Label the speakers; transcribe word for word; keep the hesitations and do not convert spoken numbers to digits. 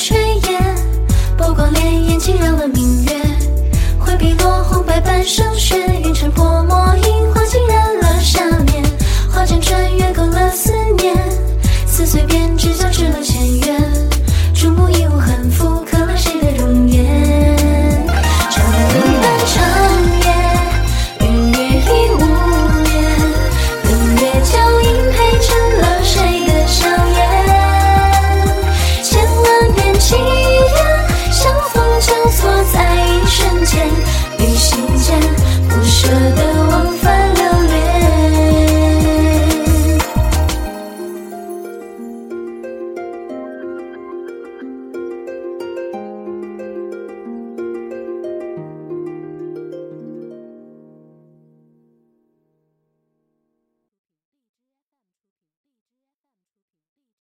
Speaker 1: 炊烟，波光潋滟惊扰了明月，回避落红白半生雪，云尘泼墨樱花浸染了下面，花间穿越勾勒思念，撕碎编织交织了前缘，注目一无痕复刻了谁的容颜。长路漫长夜，云雨里无眠，冷月脚印配成了谁的笑颜，千万遍祈愿相逢交错在一瞬间，于心间不舍的